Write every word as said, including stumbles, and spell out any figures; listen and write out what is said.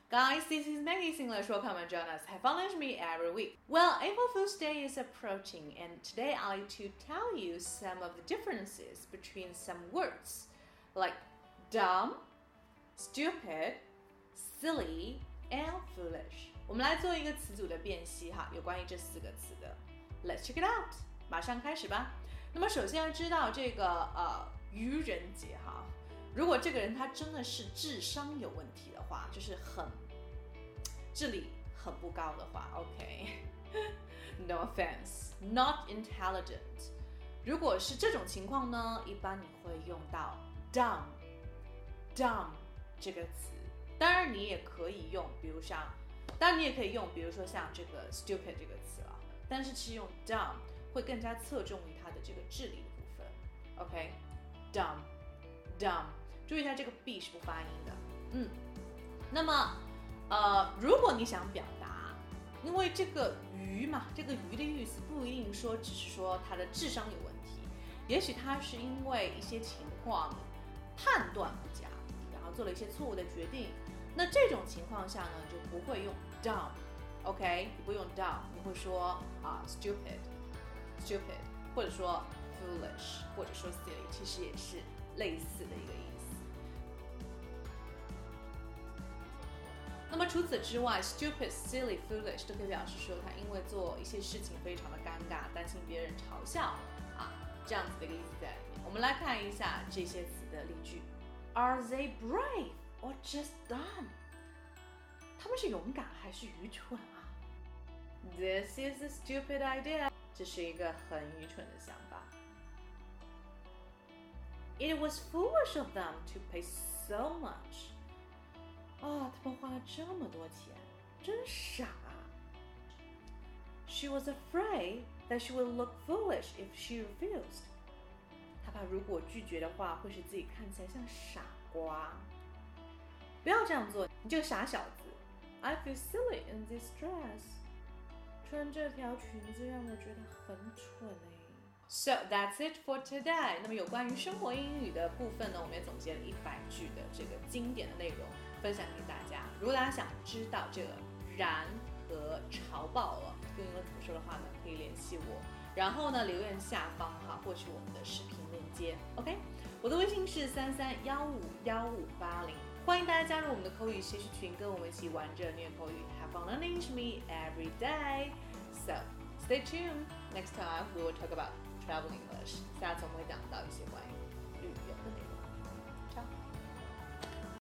Guys, this is Maggie English. Welcome and join us. Have fun with me every week. Well, April Fool's Day is approaching, and today I'd like to tell you some of the differences between some words like dumb, stupid, silly, and foolish. 我们来做一个词组的辨析哈，有关于这四个词的。Let's check it out. 马上开始吧。那么首先要知道这个呃愚人节哈。如果这个人他真的是智商有问题的话，就是很智力很不高的话 ，OK， no offense, not intelligent。如果是这种情况呢，一般你会用到 dumb, dumb 这个词。当然你也可以用，比如像，当然你也可以用，比如说像这个 stupid 这个词了。但是其实用 dumb 会更加侧重于它的这个智力的部分 ，OK，dumb, dumb。注意一下这个 b 是不发音的，嗯，那么，呃，如果你想表达，因为这个愚嘛，这个愚的意思不一定说只是说他的智商有问题，也许他是因为一些情况判断不佳，然后做了一些错误的决定，那这种情况下呢，就不会用 dumb，OK， 你不用 dumb， 你会说啊 stupid，stupid， 或者说 foolish， 或者说 silly， 其实也是类似的一个意思。那么除此之外 ，stupid, silly, foolish 都可以表示说他因为做一些事情非常的尴尬，担心别人嘲笑啊，这样子的一个意思在里面。我们来看一下这些词的例句 ：Are they brave or just dumb？ 他们是勇敢还是愚蠢啊 ？This is a stupid idea。这是一个很愚蠢的想法。It was foolish of them to pay so much。啊，他们花了这么多钱，真傻啊 ！She was afraid that she would look foolish if she refused。她怕如果拒绝的话，会使自己看起来像傻瓜。不要这样做，你这个傻小子 ！I feel silly in this dress。穿这条裙子让我觉得很蠢哎。So that's it for today。那么有关于生活英语的部分呢，我们也总结了一百句的这个经典的内容，分享给大家。如果大家想知道这个然和潮爆了用英文怎么说的话呢，可以联系我，然后呢留言下方哈获取我们的视频链接。OK， 我的微信是三三幺五幺五八零，欢迎大家加入我们的口语学习群，跟我们一起玩着虐口语 ，Have fun learning with me every day. So stay tuned. Next time we will talk about travel English。下次我们会讲到一些关于